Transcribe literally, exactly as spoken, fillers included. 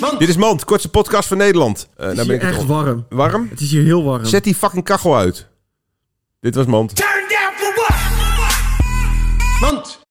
Mand. Dit is Mand, kortste podcast van Nederland. Uh, Het is hier echt warm. Warm? Het is hier heel warm. Zet die fucking kachel uit. Dit was Mand. Turn down for what? Mand.